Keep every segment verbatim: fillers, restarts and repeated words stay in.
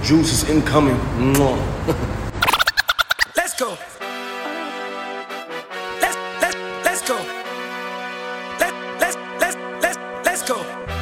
Juice is incoming. Let's go. Let's let's let's go. Let let's let's let's let's go.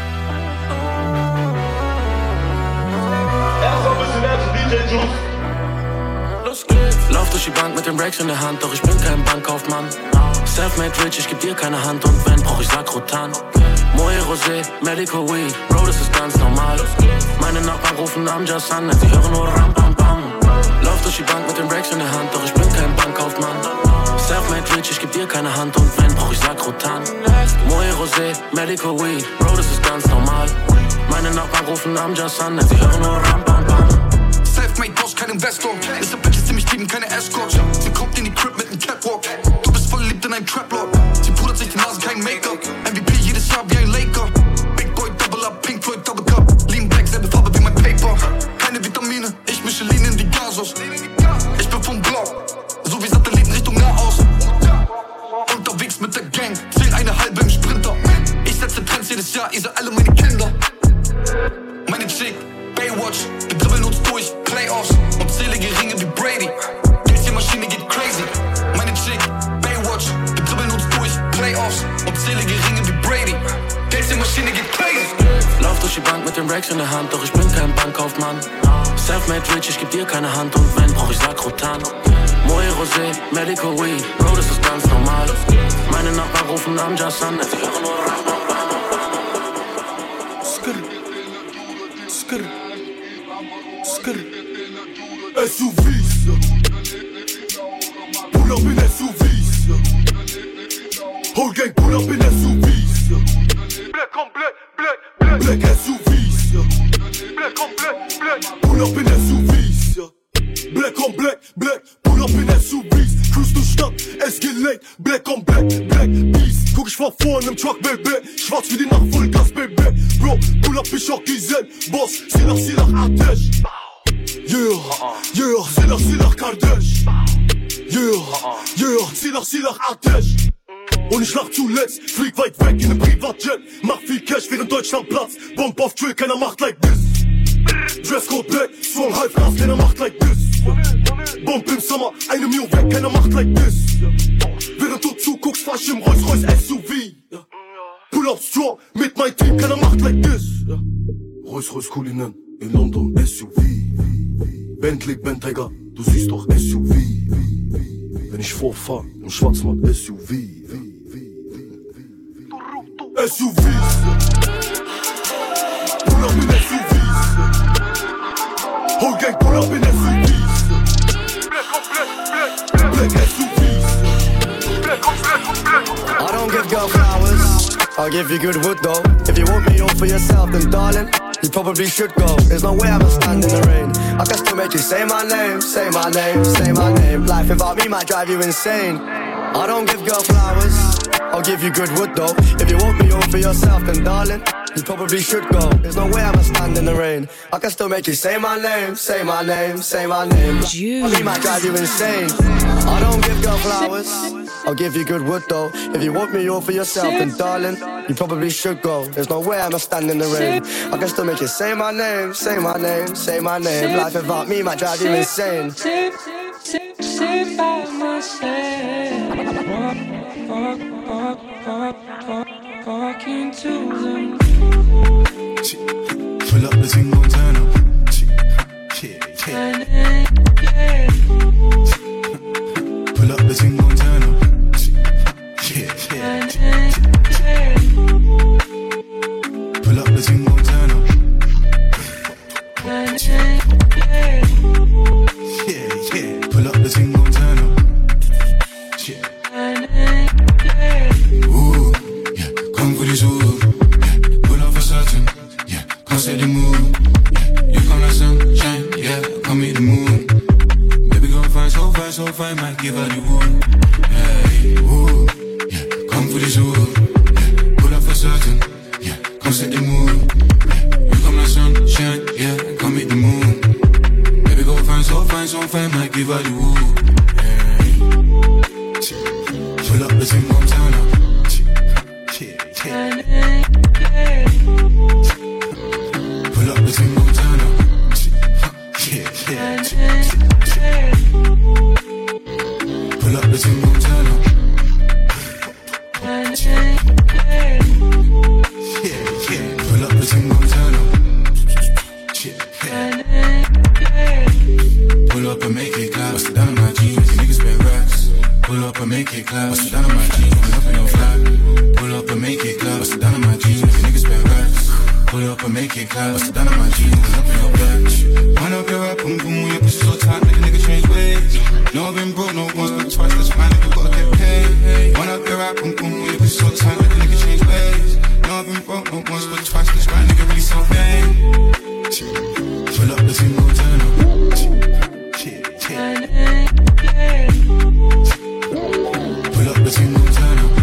Erst ein bisschen mehr zu D J Juice. Los geht's. Lauf durch die Bank mit den Racks in der Hand, doch ich bin kein Bankkaufmann. Selfmade rich, ich geb dir keine Hand und wenn, brauch ich Sakrotan. Moe Rosé, Medical Weed, Bro, das ist ganz normal. Meine Nachbarn rufen Amjas an, sie hören nur Ram Bam Bam. Lauf durch die Bank mit den Racks in der Hand, doch ich bin kein Bankkaufmann. Selfmade rich, ich geb dir keine Hand und wenn, brauch ich Sakrotan. Moe Rosé, Medical Weed, Bro, das ist ganz normal. Meine Nachbarn rufen Amjas an, sie hören nur Ram Bam Bam. Selfmade Boss, kein Investor. Ist der Bitches, die mich lieben, keine Escorts. Sie kommt in die Crib mit nem Catwalk. Du bist voll verliebt in einen Traplord. Sie pudert sich die Nase, kein Make-up. M V P jedes Jahr wie ein Laker. Big Boy, Double Up, Pink Floyd, Double Cup. Lean Back, selbe Farbe wie mein Paper. Keine Vitamine, ich mische Lean in die Gasos. Ich bin vom Block, so wie Satelliten Richtung Nahost. Unterwegs mit der Gang, zähl eine halbe im Sprinter. Ich setze Trends jedes Jahr, ihr seid alle meine Kinder. Meine Chick, Baywatch, wir dribbeln uns durch, Playoffs. Und zähle Ringe wie Brady. Die Maschine geht crazy. Meine Chick, Baywatch, wir dribbeln uns durch, Playoffs. Und zähle Ringe wie Brady. Die Maschine geht crazy. Lauf durch die Bank mit den Racks in der Hand, doch ich bin kein Bankkaufmann. Selfmade rich, ich geb dir keine Hand und wenn, brauch ich Sakrotan. Moe Rosé, Medical Weed, Bro, das ist ganz normal. Meine Nachbarn rufen Amjas an, sie hören nur Ram Bam Bam. Skr, skr, skr. S U Vs, pull up in S U Vs. Whole gang pull up in S U Vs. Black on black, black, black. Black S U Vs. Black on black, black. Pull up in S U Vs. Black on black, black. Pull up in S U Vs. Cruise durch Stadt, es gelenkt. Black on black, black. Beast. Guck ich fahr vorne im Truck, Baby. Schwarz wie die Nacht, Vollgas, Baby. Bro, pull up, ich auch Gizen. Boss, Silach, Silach, Atesh. Yeah, yeah, Silach, Silach, Kardesh. Yeah, yeah, Silach, Silach, Atesh. Und ich lach zuletzt, flieg weit weg in nem Privatjet. Mach viel Cash, während Deutschland platzt. Bomb auf Drill, keiner macht like this. Dresscode black, strong half Gas, keiner macht like this. Bomb im Sommer, eine Mio weg, keiner macht like this. Während du zuguckst, fahr ich im Rolls-Royce S U V. Pull up strong, mit mein Team, keiner macht like this. Rolls-Royce Cullinan, in London S U V. Bentley, Bentayga, du siehst doch S U V. Wenn ich vorfahr, im Schwarzmarkt S U V. S U Vs. Pull up in S U Vs. Whole gang pull up in S U Vs. Black on black, black, black. Black S U Vs. Black on black, black, black. I don't give girl flowers, I'll give you good wood though. If you want me all for yourself, then darling, you probably should go. There's no way I'ma stand in the rain. I can still make you say my name, say my name, say my name. Life without me might drive you insane. I don't give girl flowers, I'll give you good wood though. If you want me all for yourself, then darling, you probably should go. There's no way I'ma stand in the rain. I can still make you say my name, say my name, say my name. Life me might drive you insane. I don't give girl flowers, I'll give you good wood though. If you want me all for yourself, then darling, you probably should go. There's no way I'ma stand in the rain. I can still make you say my name, say my name, say my name. Life without me might drive you insane. Sit, sit, sit by myself. Walk, walk, walk, walk, walk, walking to the moon. Pull up the thing, gon' turn up. Yeah, yeah. Pull up the thing, gon' turn up. Yeah, yeah. Pull up the thing, gon' turn up. Yeah, yeah. Pull up the thing, gon' turn up. Yeah. Ooh, yeah. Come for this ooh. Yeah. Pull up for certain. Yeah. Come say the move. Yeah. You come like sunshine. Yeah. Come meet the moon. Baby gon' find so fine, so fine. Might give her the wood. Hey, ooh. Yeah. Come for this ooh. Yeah. Pull up for certain. Yeah. Come set the mood. Yeah. You come like sunshine. Yeah. Come meet the moon. Baby gon' find so fine, so fine. Might give her the wood. Pull up the thing, gon' turn up. Yeah, yeah. Pull up the thing, gon' turn up. Pull up and make it clap. Bust it down on my jeans. You niggas spend racks. Pull up and make it clap. Bust it down on my jeans. Pull up in your flat. Pull up and make it clap. Bust it down on my jeans. You niggas spend racks. Pull up and make it clap. Bust it down on my jeans. Pull up in your back. Wind up your rap, boom boom. Your pussy so tight, make a nigga change ways. No, I've been broke, no once, but twice. That's why nigga gotta get paid. Wind up your rap, boom boom. Your pussy so tight, make a nigga change ways. No, I've been broke, no once, but twice. That's why nigga really so vain. Pull up the single turn up. Pull up the single turn up.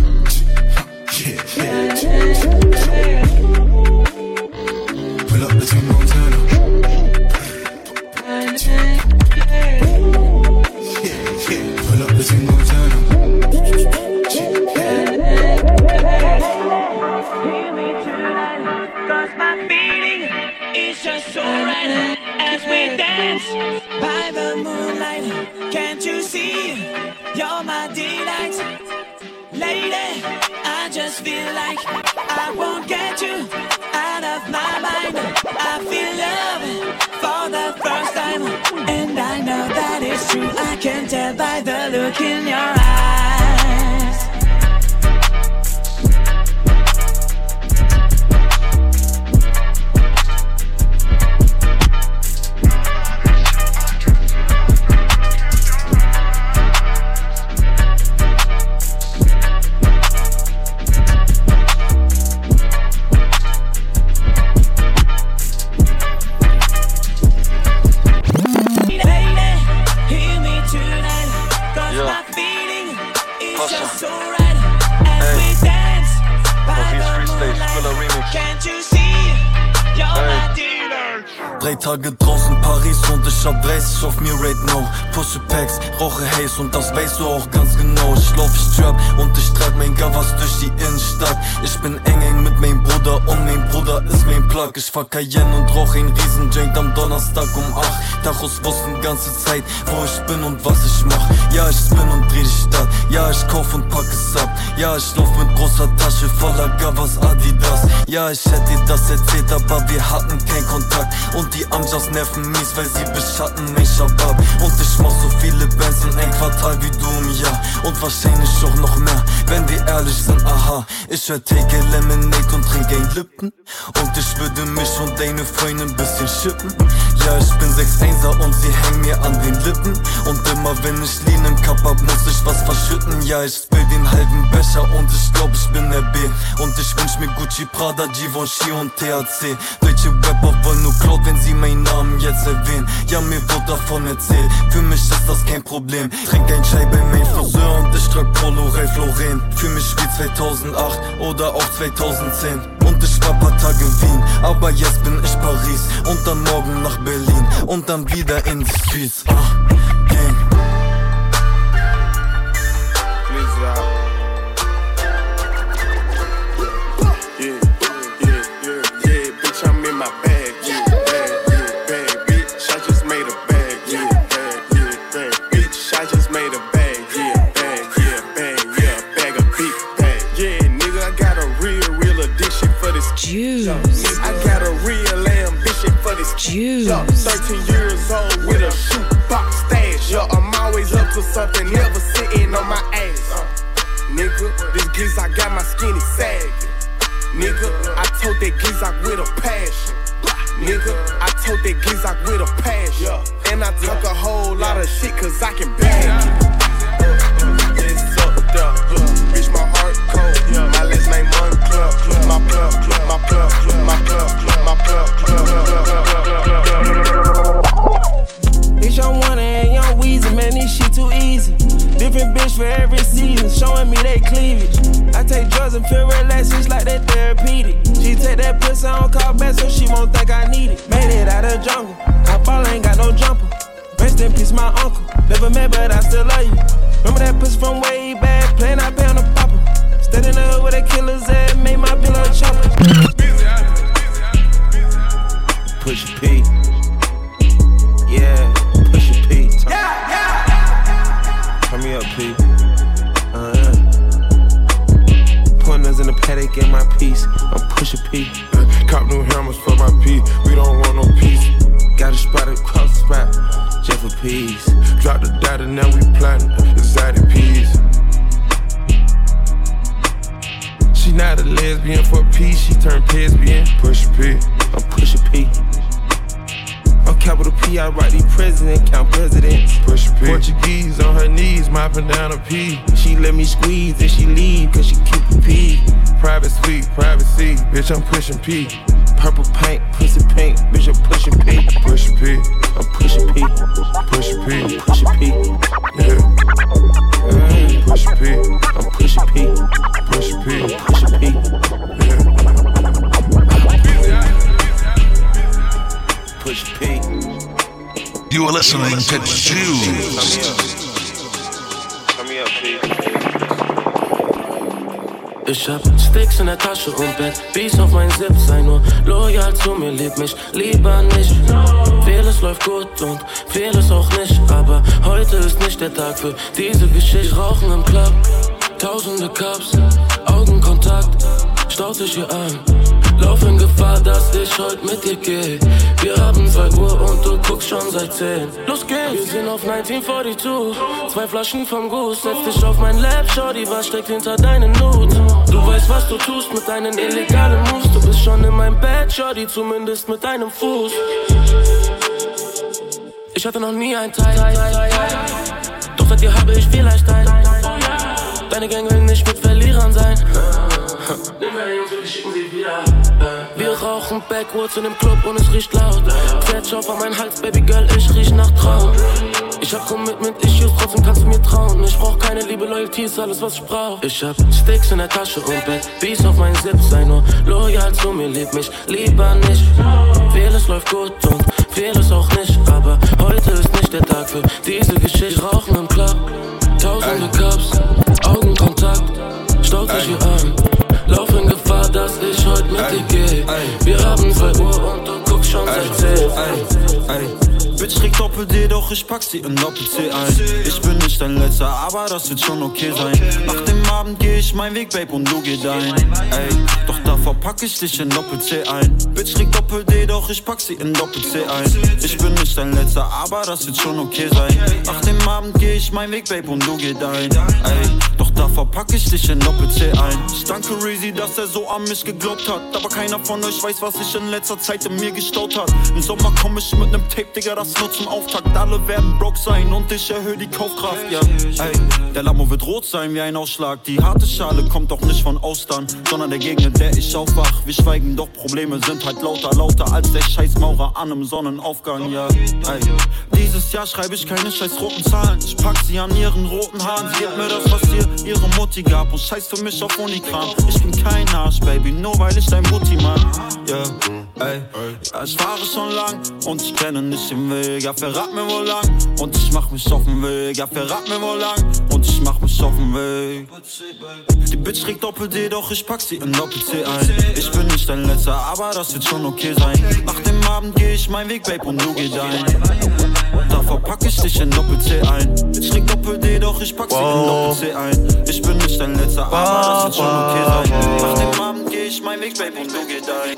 Pull up the single turn up. Pull up the single turn up. Hear me tonight, 'cause my feeling is just so right. As we dance by the moonlight, can't you see you're my delight? Lady, I just feel like I won't get you out of my mind. I feel love for the first time, and I know that it's true. I can tell by the look in your eyes. Drei Tage draußen Paris und ich hab dreißig auf mir right now. Pushe Packs, rauche Haze und das weißt du auch ganz genau. Ich lauf, ich trap und ich trag mein Gavas durch die Innenstadt. Ich bin eng eng mit meinem Bruder und mein Bruder ist mein Plug. Ich fahr Cayenne und rauch ein Riesenjoint am Donnerstag um acht. Tachos wussten ganze Zeit, wo ich bin und was ich mach. Ja, ich spin und dreh die Stadt. Ja, ich kauf und pack es ab. Ja, ich lauf mit großer Tasche voller Gavas Adidas. Ja, ich hätte dir das erzählt, aber wir hatten keinen Kontakt. Und die Anjas nerven mies, weil sie beschatten mein Shabab. Und ich mach so viele Bands in ein Quartal wie du im Jahr. Und wahrscheinlich auch noch mehr, wenn wir ehrlich sind, aha. Ich hör Take a Lemonade und trink ein Lipton. Und ich würde mich und deine Freundin ein bisschen schippen. Ja, ich bin sechs Einser und sie hängen mir an den Lippen. Und immer wenn ich Lean im Cup hab, muss ich was verschütten. Ja, ich spill den halben Becher und ich glaub, ich bin der B. Und ich wünsch mir Gucci, Prada, Givenchy und T H C. Deutsche Rapper wollen nur Cloud, wenn sie meinen Namen jetzt erwähnen. Ja, mir wird davon erzählt, für mich ist das kein Problem. Trink ein Chai bei meinem Friseur und ich trag Polo Ralph Lauren. Fühl mich wie zweitausendacht oder auch zweitausendzehn. Und ich war paar Tage in Wien, aber jetzt bin ich Paris. Und dann morgen nach Berlin und dann wieder in die Streets. Ah, Gang. Yeah, yeah, yeah, yeah, bitch, I'm in my bag, yeah, bag, yeah, bag, bitch, I just made a bag, yeah, bag, yeah, bag, bitch, I just made a bag, yeah, bag, yeah, bag, yeah, bag of beef, bag, yeah, nigga, I got a real, real addiction for this juice. I got a real ambition for this juice. thirteen years old with a shoebox stash, yeah, I'm always up to something, never sitting on my ass. Uh, nigga, this giz, I got my skinny sagging. Nigga, I told that Gizak with a passion. Nigga, I told that Gizak with a passion. And I talk a whole lot of shit cause I can bag it. It's up there, bitch, my heart cold. My last name One Club. My plug, my plug, my plug, my plug, Bitch, I'm one and young Weezy, man, this shit too easy. Different bitch for every season, showing me they cleavage. I take drugs and feel relaxed, it's like that therapeutic. She take that pussy on call back so she won't think I need it. Made it out of jungle, my ball ain't got no jumper. Rest in peace, my uncle. Never met, but I still love you. Remember that pussy from way back, playing I pay on the popper. Stayed in the hood where the killers at, made my pillow chopper. Push a P. Yeah, push a P. Turn, yeah, yeah. Turn me up, P. Uh-huh. Pointers in the paddock in my piece. I'm push a P. Cop new hammers for my P. We don't want no peace. peas. Drop the data, now we plotting exotic peas. She not a lesbian for peace, she turned lesbian. Push a P, I'm Pusha P. I'm capital P, I write these president, count presidents. Push a P. Portuguese on her knees, mopping down a P. She let me squeeze and she leave, cause she keep a P. Private suite, privacy, bitch, I'm pushing P. Purple paint, pussy paint, bitch, I'm pushing P. Push a P, I'm pushing P. Push a P, I'm pushing P. Yeah. Mm. Push a P, I'm pushing P. Push a P, I'm pushing P. Yeah. Push P. You are listening to Juice. Come here, P. Ich hab Sticks in der Tasche und Bett, Beats auf mein Zip, sei nur loyal zu mir, lieb mich lieber nicht. Vieles läuft gut und vieles auch nicht, aber heute ist nicht der Tag für diese Geschichte. Rauchen im Club, tausende Cups, Augenkontakt, staut sich hier an. Lauf in Gefahr, dass ich heute mit dir geh. Wir haben zwei Uhr und du guckst schon seit zehn. Los geht's! Wir sind auf neunzehnhundertzweiundvierzig. Zwei Flaschen vom Goose. Setz dich auf mein Lab, Shorty, was steckt hinter deinen Nudes? Du weißt, was du tust mit deinen illegalen Moves. Du bist schon in meinem Bett, Shorty, zumindest mit deinem Fuß. Ich hatte noch nie ein Teil. Doch seit dir habe ich vielleicht ein. Deine Gang will nicht mit Verlierern sein. Nimm meine Jungs, wir schicken sie wieder. Wir rauchen Backwoods in dem Club und es riecht laut. Fettschauf an mein Hals, Baby Girl, ich riech nach Traum. Ich hab Commitment-Issues, trotzdem kannst du mir trauen. Ich brauch keine Liebe, Loyalty ist alles, was ich brauch. Ich hab Sticks in der Tasche und Bett, Beats auf mein Zip, sei nur loyal zu mir, lieb mich lieber nicht. Vieles läuft gut und vieles auch nicht, aber heute ist nicht der Tag für diese Geschichte. Rauchen im Club, tausende Cups, Augenkontakt, staut sich hier an. Lauf in Gefahr, dass ich heute mit dir geh. Wir haben zwei Uhr und du guckst schon seit zehn. Bitch trägt Doppel-D, doch ich pack sie in Doppel-C ein. Ich bin nicht dein Letzter, aber das wird schon okay sein. Nach dem Abend geh ich meinen Weg, Babe, und du geh dein. Ey, doch da verpack ich dich in Doppel-C ein. Bitch trägt Doppel-D, doch ich pack sie in Doppel-C ein. Ich bin nicht dein Letzter, aber das wird schon okay sein. Nach dem Abend geh ich meinen Weg, Babe, und du geh dein. Ey, doch da verpack ich dich in Doppel-C ein. Ich danke Reezy, dass er so an mich geglaubt hat. Aber keiner von euch weiß, was sich in letzter Zeit in mir gestaut hat. Im Sommer komm ich mit nem Tape, Digga, das nur zum Auftakt. Alle werden broke sein und ich erhöhe die Kaufkraft, ja. Ey, der Lamo wird rot sein wie ein Ausschlag. Die harte Schale kommt doch nicht von Austern, sondern der Gegner, der ich aufwach. Wir schweigen, doch Probleme sind halt lauter, lauter als der scheiß Maurer an einem Sonnenaufgang, ja. Ey, dieses Jahr schreibe ich keine scheiß roten Zahlen. Ich pack sie an ihren roten Haaren. Sie hat mir das, was ihr ihre Mutti gab und scheiß für mich auf Unikram. Ich bin kein Arsch, Baby, nur weil ich dein Mutti mag, ja. Ey, ja, ich fahre schon lang und ich kenne nicht den Weg. Ja, verrat mir wohl lang und ich mach mich auf den Weg. Ja, verrat mir wohl lang und ich mach mich auf den Weg. Die Bitch trägt Doppel-D, doch ich pack sie in Doppel-C ein. Ich bin nicht dein Letzter, aber das wird schon okay sein. Nach dem Abend geh ich meinen Weg, Babe, und du geh dein. Da verpack ich dich in Doppel-C ein. Bitch trägt Doppel-D, doch ich pack sie in Doppel-C ein. Ich bin nicht dein Letzter, aber das wird schon okay sein. Nach dem Abend geh ich meinen Weg, Babe, und du geh dein.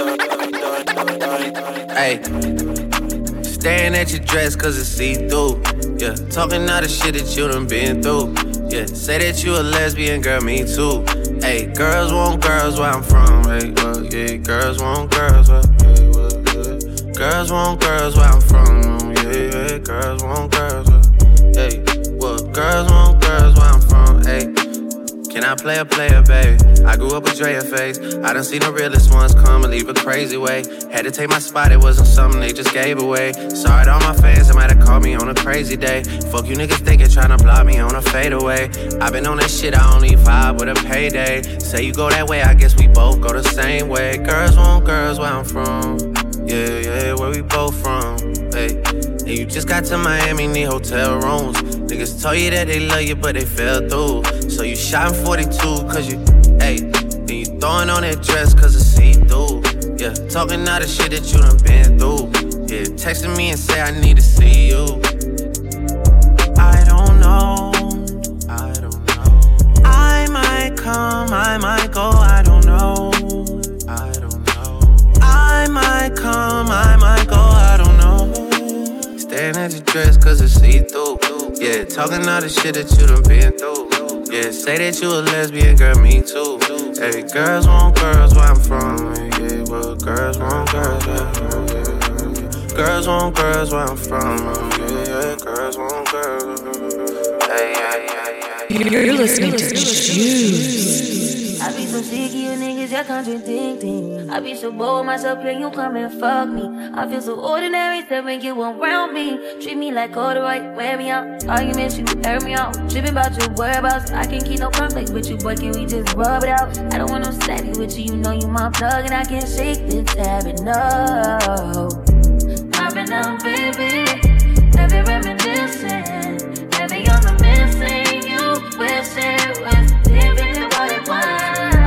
Hey, staring at your dress cause it's see-through. Yeah, talking all the shit that you done been through. Yeah, say that you a lesbian, girl, me too. Hey, girls want girls where I'm from. Hey, well, yeah, girls want girls where, hey, well, yeah. Girls want girls where I'm from. Yeah, yeah, girls want girls where, hey, well, girls want girls where I'm from. Hey, can I play a player, baby? I grew up with Drea face. I done seen the realest ones come and leave a crazy way. Had to take my spot, it wasn't something they just gave away. Sorry to all my fans, they might have called me on a crazy day. Fuck you niggas thinking, tryna block me on a fadeaway. I been on that shit, I only vibe with a payday. Say you go that way, I guess we both go the same way. Girls want girls where I'm from. Yeah, yeah, where we both from. Hey, and you just got to Miami, need hotel rooms. Niggas told you that they love you, but they fell through. So you shot in forty-two, cause you, hey, then you throwing on that dress cause it's see-through. Yeah, talking all the shit that you done been through. Yeah, texting me and say I need to see you. I don't know, I don't know. I might come, I might go, I don't know. I don't know. I might come, I might go, I don't know. Staring at your dress cause it's see-through. Yeah, talking all the shit that you done been through. Yeah, say that you a lesbian, girl, me too. Hey, girls want girls where I'm from. Yeah, well, girls want girls where I'm from. Yeah. Girls want girls where I'm from. Yeah, yeah, girls want girls. Hey, hey, hey, hey. You're listening to Juice. I be so sick of you niggas, you're contradicting. I be so bold myself, can you come and fuck me? I feel so ordinary, so when you around me. Treat me like corduroy, wear me out. Arguments, you air me out. Tripping about your whereabouts, I can't keep no conflict with you, boy, can we just rub it out? I don't want no steady with you, you know you my plug, and I can't shake this habit, no. I've been down, baby, every reminiscing, every on the missing, you wish it was different than what it was.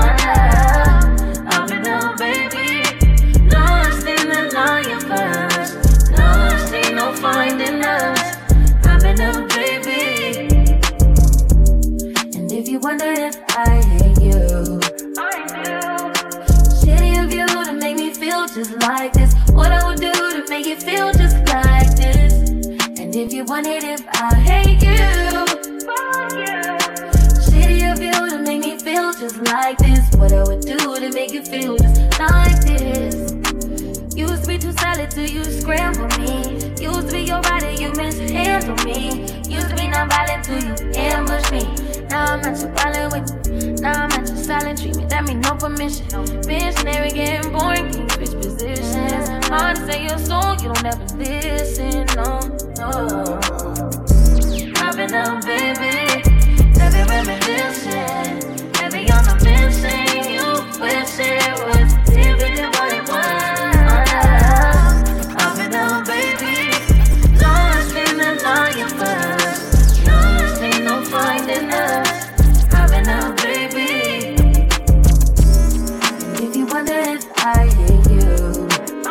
I've been down, baby, lost in the lion first, lost in no finding us. I've been down, baby, and if you wonder if I hate you, I do. Shitty of you to make me feel just like this. What I would do to make you feel just like this. And if you wondered if I hate you, fuck you. Shitty of you to make me feel just like this. What I would do to make you feel just like this. Used to be too solid till you scramble me. Used to be your rider, you mishandle me. Used to be non-violent till you ambush me. Now I'm not too violent with you. Now I'm not too silent treatment. That mean no permission. Missionary getting boring, can you switch positions? Hard to say your soul, you don't ever listen, no, no. I've been down, baby, every reminiscing, every on the missing, you wish it was different than what it was. I've been down, baby, lost in the lion first, lost ain't no finding us. I've been down, baby, and if you wonder if I hate you,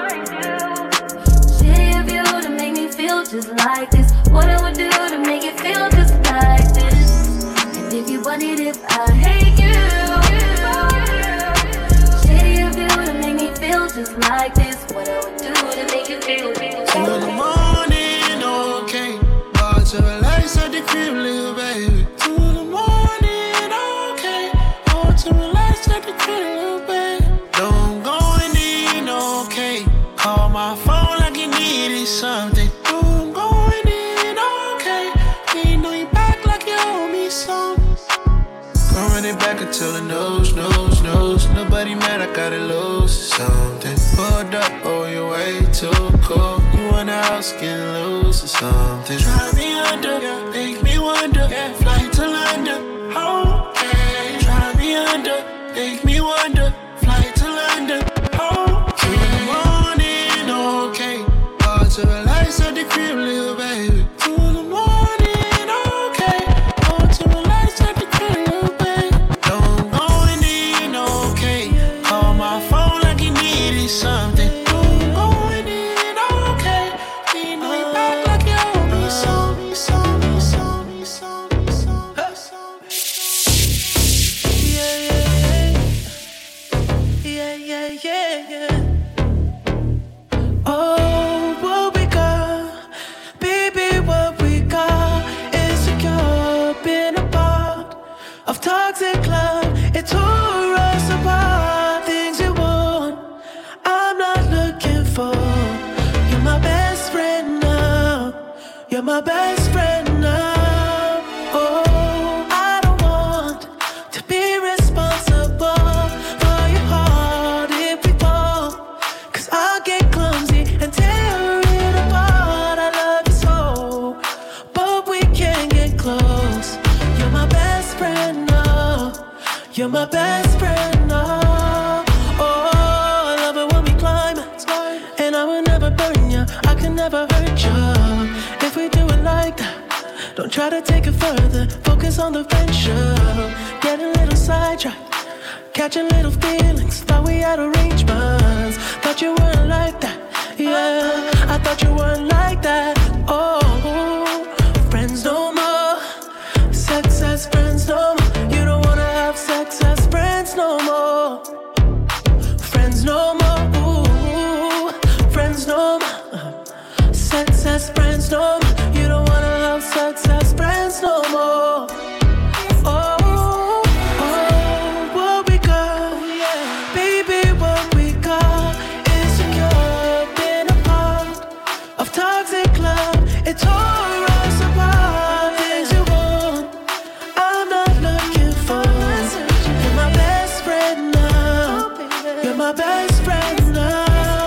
just like this. What I would do to make it feel just like this. And if you wondered if I hate you, shitty of you to make me feel just like this. What I would do to make you feel, feel, feel. Two in the morning, okay. Bought to relax at the crib, little baby. Two in the morning, okay. Bought to relax at the crib, little baby. Don't go in, okay. Call my phone like you needed something. Back until the nose, nose, nose. Nobody mad, I gotta lose something. Pulled up, oh, you're way too cool. You want a house, get loose or something. Try me under, yeah. Make me wonder, yeah. Fly to London, okay. Try me under, make me wonder. Fly to London, okay. In the morning, okay. All to relax at the crib, little baby. Two in the morning, okay. All to relax at the crib, little baby. Something going in, okay. You know you back like you owe me some, some, some, some, some, some. Yeah, yeah, yeah, yeah, yeah. Oh, what we got, baby, what we got is secure. Been a part of toxic love. It tore us apart. Things you want, I'm not looking for. You're my best friend now. You're my best friend now. Oh, I don't want to be responsible for your heart if we fall. Cause I'll get clumsy and tear it apart. I love you so, but we can't get close. You're my best friend now. You're my best friend now. Never hurt you if we do it like that. Don't try to take it further. Focus on the venture. Get a little sidetracked, catching little feelings. Thought we had arrangements. Thought you weren't like that. Yeah, I thought you weren't like that. Oh, friends no more. Sex as friends no more. You don't wanna have sex as friends no more. Friends no more. Ooh, friends no more. sex as friends no more. You don't wanna have sex as friends no more. Oh, oh, what we got, baby, what we got is secure. Been a part of toxic love. It tore us apart. Things you want, I'm not looking for. You're my best friend now. You're my best friend now.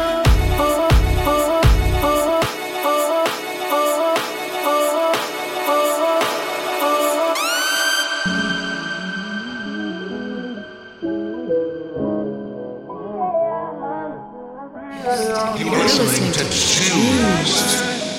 You're listening to Juice.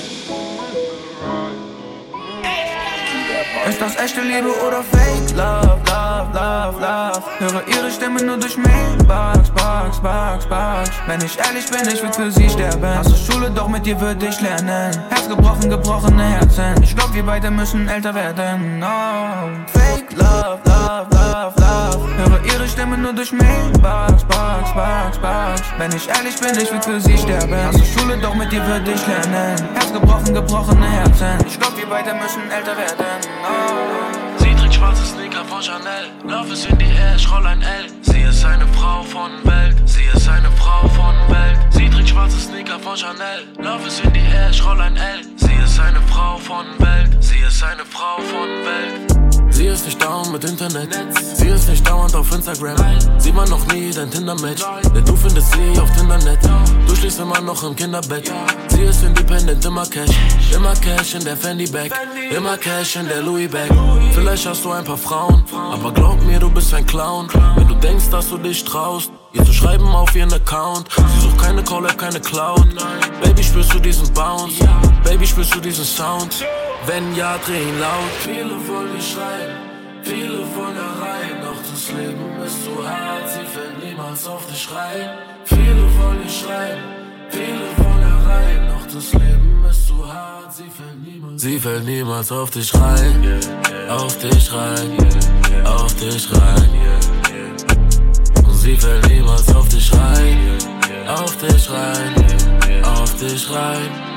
Ist das echte Liebe oder Fake Love, Love, Love, Love? Höre ihre Stimme nur durch Mailbox, Box, Box, Box. Wenn ich ehrlich bin, ich würd für sie sterben. Hasse Schule, doch mit dir würd ich lernen. Herz gebrochen, gebrochene Herzen. Ich glaub, wir beide müssen älter werden. Oh, Fake Love, Love, Love, Love. Höre ihre Stimme nur durch Mailbox, Box, Box, Box. Wenn ich ehrlich bin, ich würd für sie sterben. Hasse Schule, doch mit dir würd ich lernen. Herz gebrochen, gebrochene Herzen. Ich glaub, wir beide müssen älter werden. Oh. Sie trägt schwarze Sneaker von Chanel. Love ist in die Air, ich roll ein L. Sie ist eine Frau von Welt. Sie ist eine Frau von Welt. Sie trägt schwarze Sneaker von Chanel. Love ist in die Air, ich roll ein L. Sie ist eine Frau von Welt. Sie ist eine Frau von Welt. Sie ist nicht down mit Internet. Sie ist nicht dauernd auf Instagram. Sie war noch nie dein Tinder-Match. Denn du findest sie auf Tindernet. Du schläfst immer noch im Kinderbett. Sie ist independent, immer Cash. Immer Cash in der Fendi-Bag. Immer Cash in der Louis-Bag. Vielleicht hast du ein paar Frauen, aber glaub mir, du bist ein Clown. Wenn du denkst, dass du dich traust, ihr zu schreiben auf ihren Account. Sie sucht keine Call-App, keine Cloud. Baby, spürst du diesen Bounce? Baby, spürst du diesen Sound? Wenn ja, dreh ihn laut. Viele wollen dich schreien, viele wollen da rein. Doch das Leben ist zu hart, sie fällt niemals auf dich rein. Viele wollen dich schreien, viele wollen da rein. Doch das Leben ist zu hart, sie fällt niemals. Sie fällt niemals auf dich rein, auf dich rein, auf dich rein. Und sie fällt niemals auf dich rein, auf dich rein, auf dich rein.